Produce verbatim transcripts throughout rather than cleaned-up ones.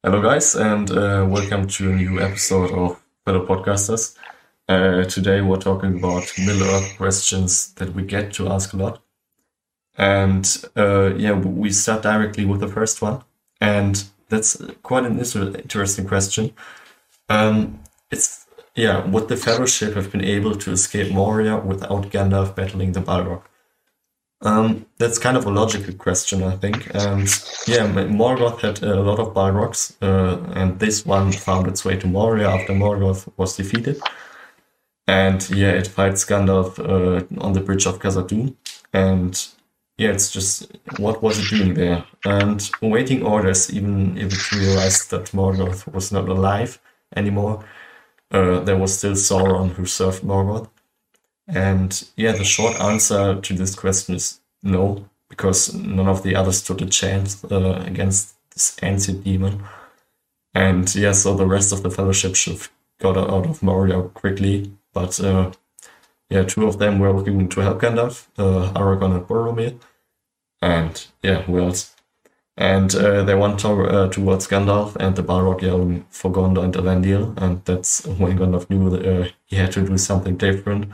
Hello, guys, and uh, welcome to a new episode of Fellow Podcasters. Uh, today, we're talking about Middle Earth questions that we get to ask a lot. And uh, yeah, we start directly with the first one. And that's quite an inter- interesting question. Um, it's, yeah, would the Fellowship have been able to escape Moria without Gandalf battling the Balrog? Um, that's kind of a logical question, I think. And yeah, Morgoth had a lot of Balrogs, uh, and this one found its way to Moria after Morgoth was defeated. And yeah, it fights Gandalf uh, on the bridge of Khazad-dûm. And yeah, it's just, what was it doing there? And awaiting orders, even if it realized that Morgoth was not alive anymore, uh, there was still Sauron who served Morgoth. And yeah, the short answer to this question is no, because none of the others stood a chance uh, against this ancient demon. And yeah, so the rest of the Fellowship should have got out of Moria quickly. But uh, yeah, two of them were looking to help Gandalf, uh, Aragorn and Boromir. And yeah, who else? And uh, they went to, uh, towards Gandalf and the Balrog yelling for Gondor and Elendil. And that's when Gandalf knew that uh, he had to do something different,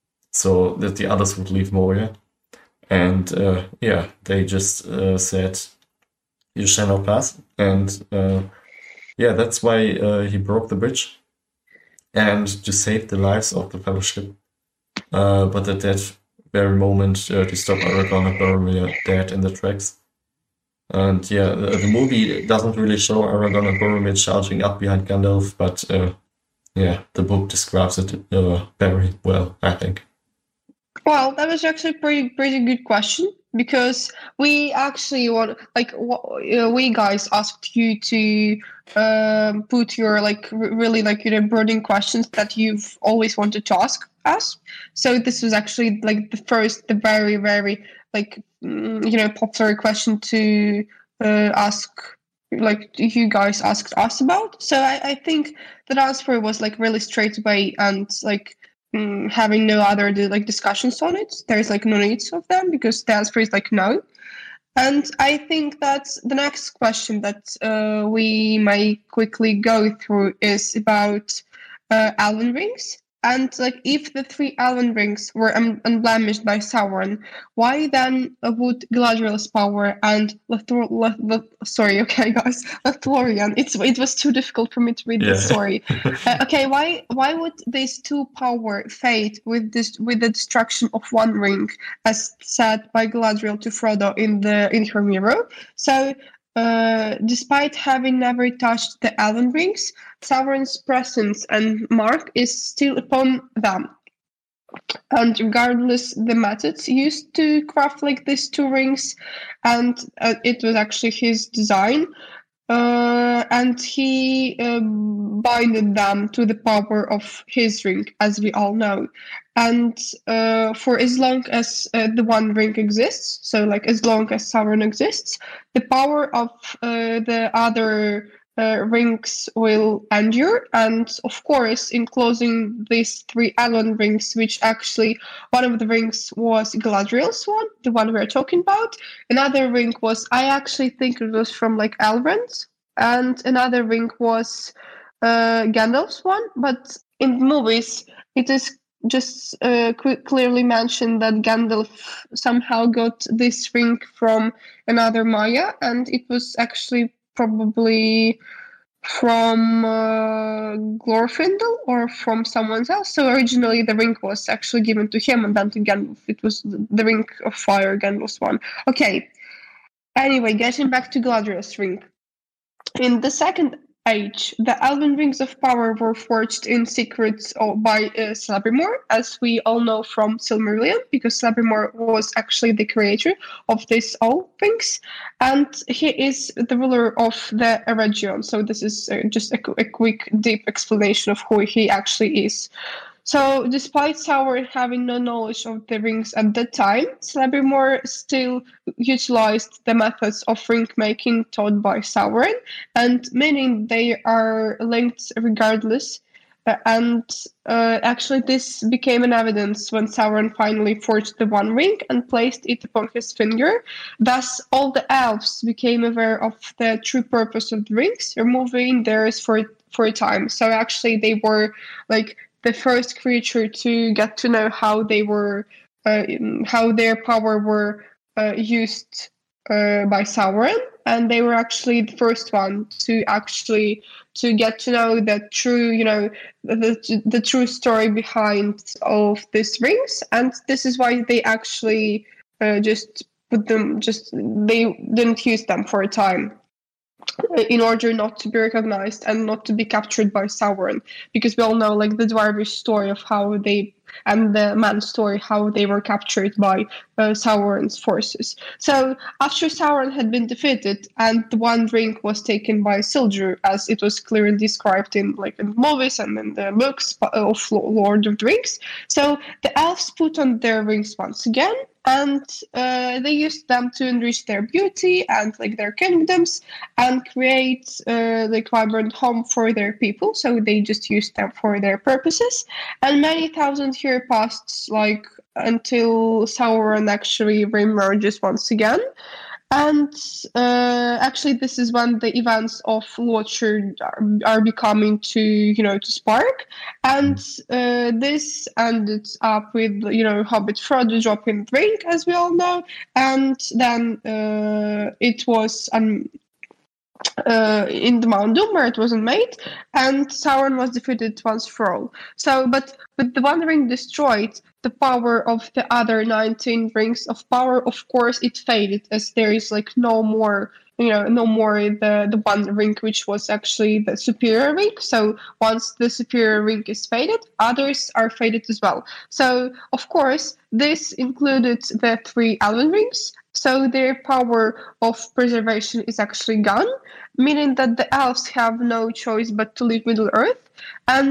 so that the others would leave Moria. And uh, yeah, they just uh, said, you shall not pass. And uh, yeah, that's why uh, he broke the bridge. And to save the lives of the Fellowship. Uh, but at that very moment, uh, to stop Aragorn and Boromir dead in the tracks. And yeah, the, the movie doesn't really show Aragorn and Boromir charging up behind Gandalf, but uh, yeah, the book describes it uh, very well, I think. Well, that was actually a pretty pretty good question, because we actually want, like, uh, we guys asked you to um, put your like r- really like you know burning questions that you've always wanted to ask us. So this was actually like the first, the very very like mm, you know popular question to uh, ask, like you guys asked us about. So I, I think the answer was like really straight away, and like mm, having no other like discussions on it. There's like no needs of them, because the answer is like no. And I think that the next question that uh, we might quickly go through is about uh, Elven rings. And like, if the three Elven rings were un- unblemished by Sauron, why then would Galadriel's power and Lethor- Le- Le- sorry, okay, guys, Lothlorien? It's it was too difficult for me to read Yeah. this. Sorry. Uh, okay, why why would these two power fade with this with the destruction of one ring, as said by Galadriel to Frodo in the in her mirror? So, uh, despite having never touched the Elven rings, Sauron's presence and mark is still upon them. And regardless the methods used to craft like these two rings, and uh, it was actually his design, uh, and he um, binded them to the power of his ring, as we all know. And uh, for as long as uh, the one ring exists, so like as long as Sauron exists, the power of uh, the other uh, rings will endure. And of course, in closing these three Elrond rings, which actually one of the rings was Galadriel's one, the one we're talking about. Another ring was, I actually think it was from like Elrond, and another ring was uh, Gandalf's one. But in the movies, it is just uh, qu- clearly mentioned that Gandalf somehow got this ring from another Maya, and it was actually probably from uh, Glorfindel or from someone else. So originally the ring was actually given to him, and then to Gandalf it was the ring of fire, Gandalf's one. Okay. Anyway, getting back to Galadriel's ring. In the Second Age, the Elven Rings of Power were forged in secret by uh, Celebrimor, as we all know from Silmarillion, because Celebrimor was actually the creator of these all rings, and he is the ruler of the Eregion. So this is uh, just a, a quick, deep explanation of who he actually is. So, despite Sauron having no knowledge of the rings at that time, Celebrimor still utilized the methods of ring making taught by Sauron, and meaning they are linked regardless Uh, and uh, actually, this became an evidence when Sauron finally forged the One Ring and placed it upon his finger. Thus, all the elves became aware of the true purpose of the rings, removing theirs for for a time. So actually, they were like the first creature to get to know how they were, uh, how their power were uh, used uh, by Sauron, and they were actually the first one to actually to get to know the true, you know, the the true story behind all of these rings. And this is why they actually uh, just put them, just they didn't use them for a time, in order not to be recognized and not to be captured by Sauron, because we all know like the Dwarvish story of how they, and the man story how they were captured by uh, Sauron's forces. So after Sauron had been defeated and the One Ring was taken by Isildur, as it was clearly described in like in the movies and in the books of Lord of the Rings, so the elves put on their rings once again, and uh, they used them to enrich their beauty and like their kingdoms and create uh, like vibrant home for their people. So they just used them for their purposes. And many thousand years passed, like until Sauron actually reemerges once again. And uh, actually, this is when the events of Watcher are, are becoming to, you know, to spark. And uh, this ended up with, you know, Hobbit Frodo dropping the ring, as we all know. And then uh, it was um, uh, in the Mount Doom where it wasn't made, and Sauron was defeated once for all. So, but with the One Ring destroyed, the power of the other nineteen rings of power, of course, it faded, as there is like no more, you know, no more the, the One Ring, which was actually the superior ring. So once the superior ring is faded, others are faded as well. So, of course, this included the three Elven rings. So their power of preservation is actually gone, meaning that the elves have no choice but to leave Middle Earth, and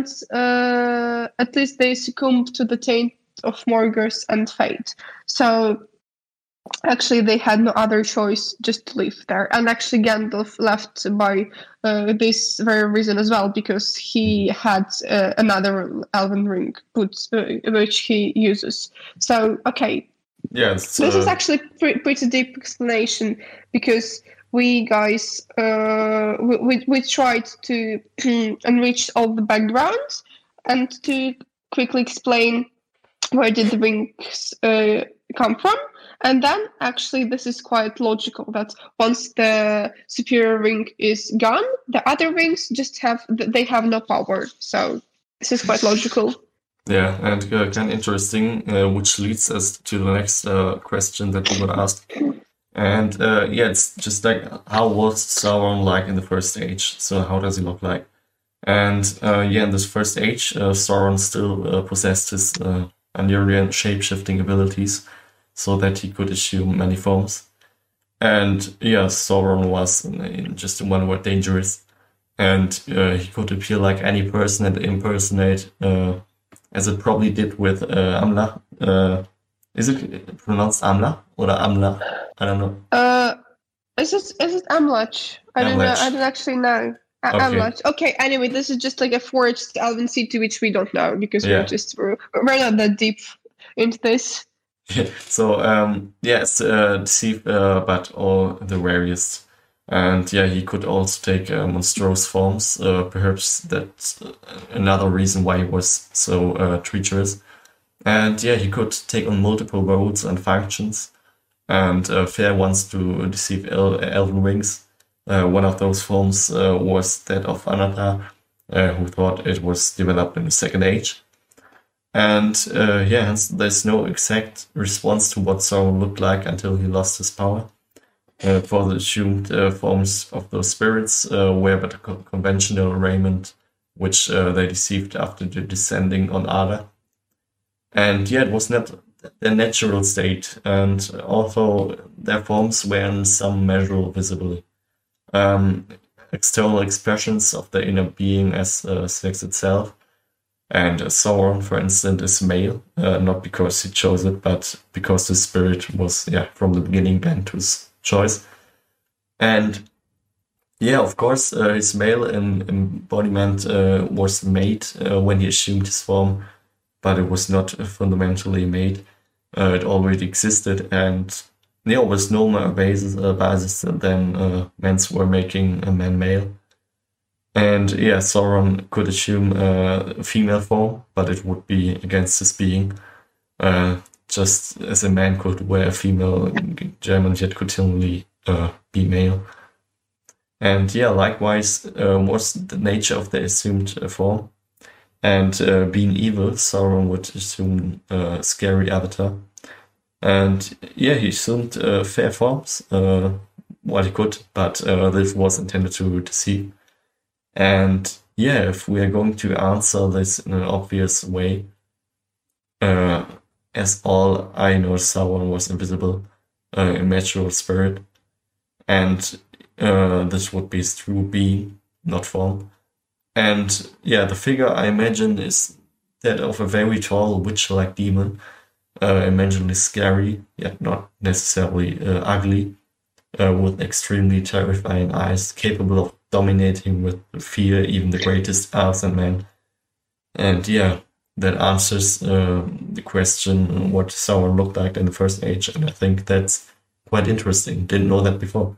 uh, at least they succumb to the taint of Morgoth and fate. So actually they had no other choice just to live there. And actually Gandalf left by uh, this very reason as well, because he had uh, another Elven ring put, uh, which he uses. So, okay. Yes. This uh, is actually pre- pretty deep explanation, because we guys uh, we, we, we tried to enrich all the backgrounds and to quickly explain where did the rings uh, come from. And then actually this is quite logical, that once the superior ring is gone, the other rings just have, they have no power. So this is quite logical. Yeah, and uh, kind of interesting, uh, which leads us to the next uh, question that we got asked. And uh, yeah, it's just like, how was Sauron like in the first age? So how does he look like? And uh, yeah, in this first age, uh, Sauron still uh, possessed his uh, Anurian shape-shifting abilities, so that he could assume many forms. And yeah, Sauron was, in just in one word, dangerous. And uh, he could appear like any person and impersonate, uh, as it probably did with uh, Amla. Uh, is it pronounced Amla or Amla? I don't know. Uh, is it is it Amlach? I don't know. I don't actually know. Uh, Okay. Amlach. Okay. Anyway, this is just like a forged Elven city, which we don't know, because Yeah. we're just we're, we're not that deep into this. Yeah, so um, yeah, it's uh, deceived, uh, but all the rarest. And yeah, he could also take uh, monstrous forms. Uh, perhaps that's uh, another reason why he was so uh, treacherous. And yeah, he could take on multiple roles and functions. And uh, Fair wants to deceive El- Elven Rings. Uh, one of those forms uh, was that of Anatar, uh, who thought it was developed in the Second Age. And uh, yeah, hence there's no exact response to what Sauron looked like until he lost his power. Uh, for the assumed uh, forms of those spirits uh, were but a co- conventional raiment, which uh, they deceived after the descending on Ada. And yeah, it was not their natural state, and although their forms were in some measure visible, um, external expressions of their inner being as uh, sex itself. And Sauron, for instance, is male, uh, not because he chose it, but because the spirit was, yeah, from the beginning bent to his choice. And Yeah, of course, uh, his male em- embodiment uh, was made uh, when he assumed his form, but it was not uh, fundamentally made. Uh, it already existed, and there was no more basis, uh, basis than uh, men's were making a man male. And yeah, Sauron could assume uh, a female form, but it would be against his being. Uh, just as a man could wear a female German, yet continually uh, be male. And yeah, likewise uh, was the nature of the assumed uh, form. And uh, being evil, Sauron would assume a scary avatar. And yeah, he assumed uh, fair forms, uh, what he could, but uh, this was intended to deceive. And yeah, if we are going to answer this in an obvious way, uh, as all I know, Sauron was invisible, uh, immaterial spirit, and uh, this would be his true being, not form. And yeah, the figure I imagine is that of a very tall witch-like demon, uh, imaginally scary, yet not necessarily uh, ugly, uh, with extremely terrifying eyes, capable of dominating with fear even the greatest elves and men. And yeah, that answers uh, the question what Sauron looked like in the First Age, and I think that's quite interesting. Didn't know that before.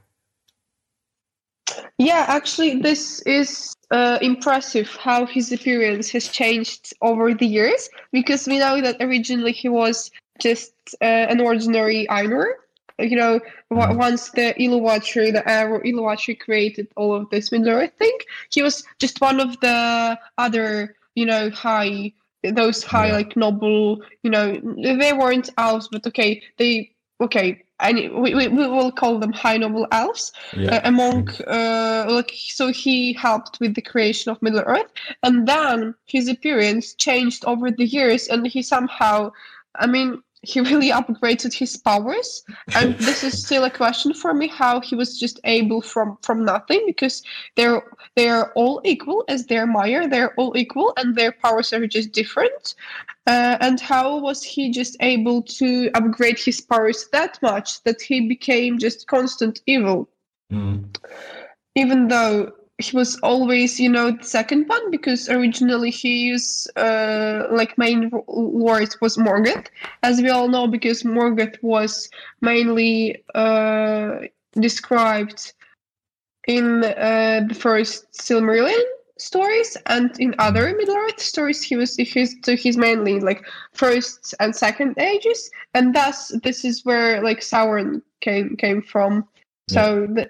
Yeah, actually, this is uh, impressive how his appearance has changed over the years, because we know that originally he was just uh, an ordinary Ainur. You know, w- Mhm. once the Iluwatri, the Arrow Iluwatri created all of this Middle Earth thing, he was just one of the other, you know, high, those high, Yeah. like noble, you know, they weren't elves, but okay, they, okay, and we, we, we will call them high noble elves Yeah. uh, among uh, like so he helped with the creation of Middle Earth, and then his appearance changed over the years, and he somehow, I mean, he really upgraded his powers, and this is still a question for me how he was just able from from nothing, because they're they're all equal as their Meyer, they're all equal and their powers are just different. Uh, and how was he just able to upgrade his powers that much that he became just constant evil? Mm. Even though he was always, you know, the second one, because originally his uh, like main lord was Morgoth, as we all know, because Morgoth was mainly uh, described in uh, the first Silmarillion stories, and in other Middle Earth stories, he was his so he's mainly like first and second ages, and thus this is where like Sauron came came from. So the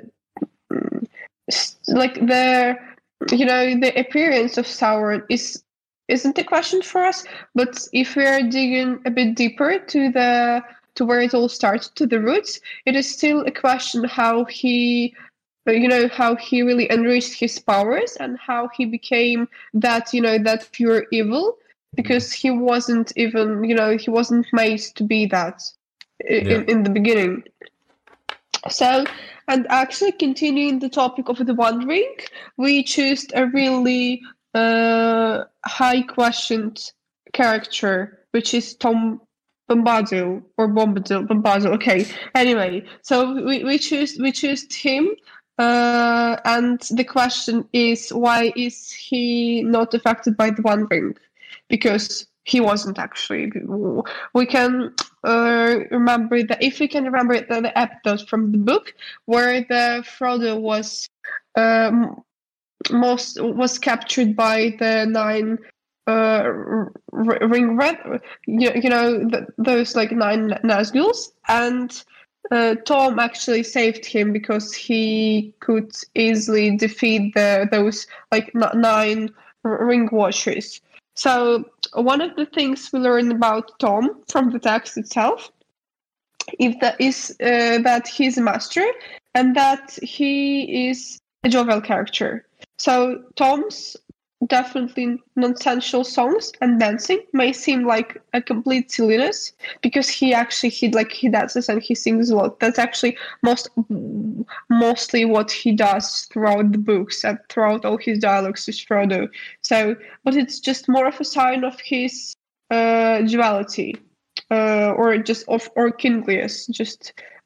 like the you know the appearance of Sauron is isn't a question for us, but if we are digging a bit deeper to the to where it all started, to the roots, it is still a question how he you know how he really enriched his powers and how he became that you know that pure evil, because he wasn't even you know he wasn't made to be that in, Yeah. in the beginning. So, and actually continuing the topic of the One Ring, we chose a really uh, high questioned character, which is Tom Bombadil or Bombadil, Bombadil. Okay. Anyway, so we we choose we choose him, uh, and the question is why is he not affected by the One Ring? Because he wasn't actually. We can uh, remember that if we can remember the, the episode from the book where the Frodo was um, most was captured by the nine uh, r- ring red, you, you know the, those like nine Nazguls, and uh, Tom actually saved him because he could easily defeat the those like nine ring watchers. So one of the things we learn about Tom from the text itself is that, is, uh, that he's a master and that he is a jovial character. So Tom's definitely nonsensical songs and dancing may seem like a complete silliness because he actually he like he dances and he sings a lot. That's actually most mostly what he does throughout the books and throughout all his dialogues with Frodo. So, but it's just more of a sign of his uh, duality, uh, or just of or kindliest, just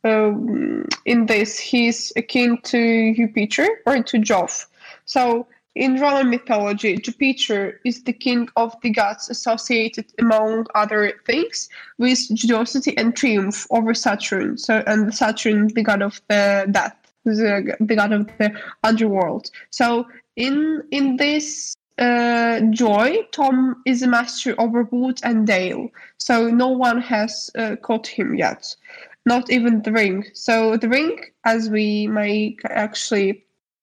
um, in this, he's akin to Jupiter or to Jove. So in Roman mythology, Jupiter is the king of the gods, associated, among other things, with generosity and triumph over Saturn. So, and Saturn, the god of the death, the, the god of the underworld. So, in in this uh, joy, Tom is a master over wood and dale. So, no one has uh, caught him yet, not even the ring. So, the ring, as we may actually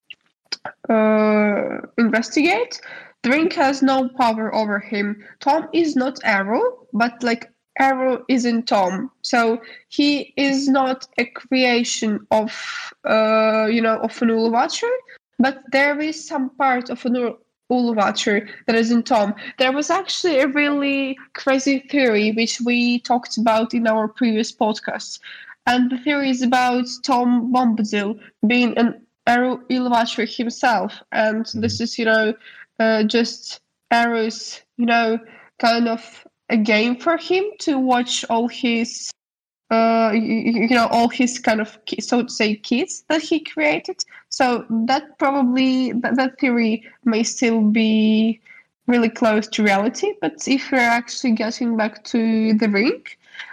Uh, investigate, the ring has no power over him. Tom is not Arrow, but like Arrow isn't Tom, so he is not a creation of uh you know of an Uluwatu, but there is some part of an Uluwatu that isn't Tom. There was actually a really crazy theory which we talked about in our previous podcasts, and the theory is about Tom Bombadil being an Arrow Uluwatu himself, and mm-hmm. this is, you know, uh, just Arrow's, you know, kind of a game for him to watch all his, uh, you, you know, all his kind of, so to say, kids that he created. So that probably, that, that theory may still be really close to reality, but if we're actually getting back to the ring,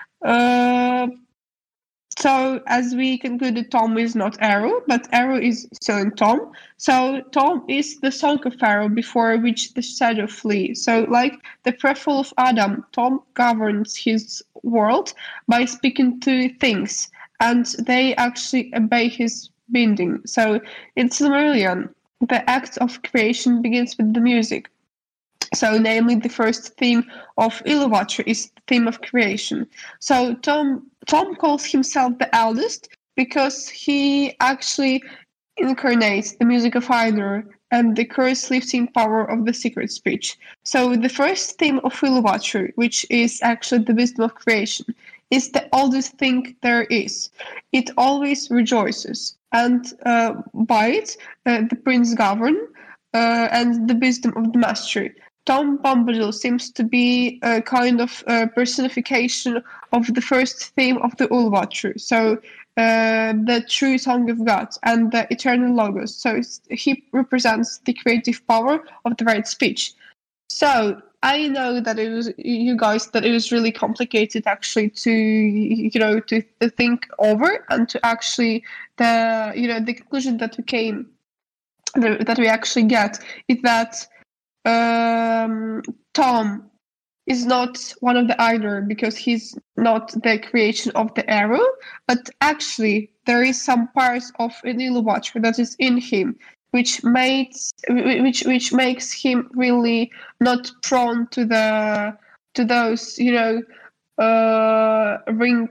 uh, so, as we concluded, Tom is not Arrow, but Arrow is still in Tom. So, Tom is the song of Arrow before which the shadow flees. So, like the prequel of Adam, Tom governs his world by speaking to things, and they actually obey his bidding. So, in Silmarillion, the act of creation begins with the music. So, namely, the first theme of Uluwatu is the theme of creation. So, Tom Tom calls himself the eldest because he actually incarnates the music of Ainur and the curse-lifting power of the secret speech. So, the first theme of Uluwatu, which is actually the wisdom of creation, is the oldest thing there is. It always rejoices, and uh, by it, uh, the prince govern uh, and the wisdom of the master. Tom Bombadil seems to be a kind of uh, personification of the first theme of the Uluwatu, so uh, the true song of God and the eternal logos. So he represents the creative power of the right speech. So I know that it was you guys that it was really complicated actually to you know to, to think over and to actually the you know the conclusion that we came that we actually get is that. Um, Tom is not one of the Ainur because he's not the creation of the Arrow, but actually there is some parts of an Uluwatu that is in him, which makes which which makes him really not prone to the to those you know uh, ring.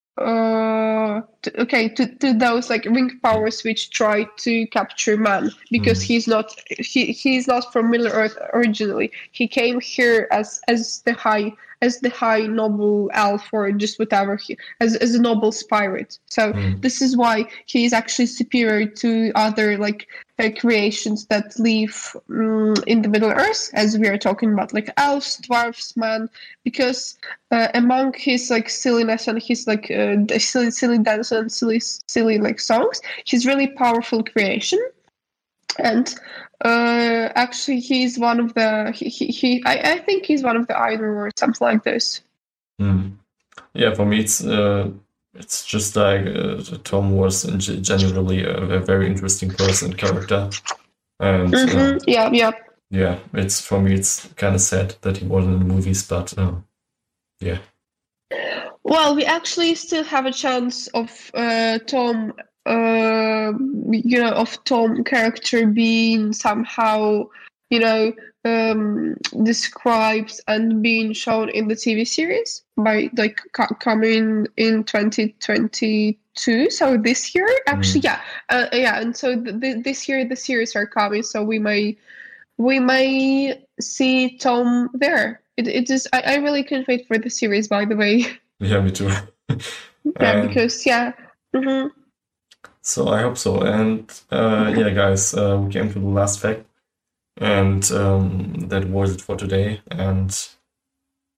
Uh, to, okay, to, to those like ring powers which try to capture man, because mm. he's not he he's not from Middle Earth originally. He came here as as the high as the high noble elf or just whatever he as as a noble spirit. So mm. this is why he is actually superior to other like uh, creations that live um, in the Middle Earth, as we are talking about, like elves, dwarves, man, because uh, among his like silliness and his like uh, silly silly dance and silly silly like songs, he's really powerful creation. And uh, actually, he's one of the he he, he I, I think he's one of the Ainur or something like this. Mm. Yeah, for me, it's uh, it's just like uh, Tom was generally a, a very interesting person character, and mm-hmm. uh, yeah, yeah, yeah. It's for me, it's kind of sad that he wasn't in the movies, but uh, yeah. Well, we actually still have a chance of uh, Tom. Uh, you know, of Tom character being somehow, you know, um, described and being shown in the T V series by like co- coming in twenty twenty-two. So this year, actually, mm. yeah, uh, yeah, and so th- th- this year the series are coming, so we may we may see Tom there. It it is. I, I really can't wait for the series. By the way. Yeah, me too. yeah, um, because yeah. Mm-hmm. So I hope so. And uh, yeah, guys, uh, we came to the last fact, and um, that was it for today. And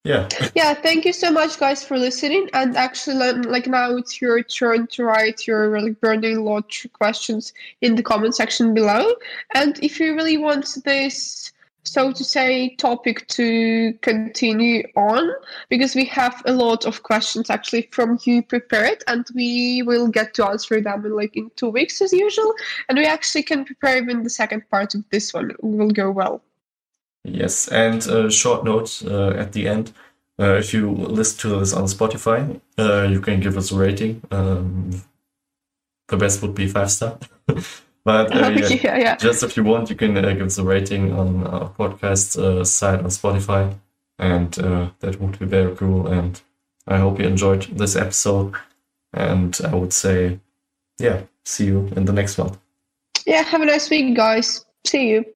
yeah. Yeah, thank you so much, guys, for listening. And actually, like like now it's your turn to write your really burning lot questions in the comment section below. And if you really want this, so to say, topic to continue on, because we have a lot of questions actually from you prepared, and we will get to answer them in like in two weeks as usual. And we actually can prepare even the second part of this one. It will go well. Yes, and a short note uh, at the end. Uh, if you listen to this on Spotify, uh, you can give us a rating. Um, the best would be five star. But uh, yeah, yeah, yeah. just if you want, you can uh, give us a rating on our podcast uh, site on Spotify. And uh, that would be very cool. And I hope you enjoyed this episode. And I would say, yeah, see you in the next one. Yeah, have a nice week, guys. See you.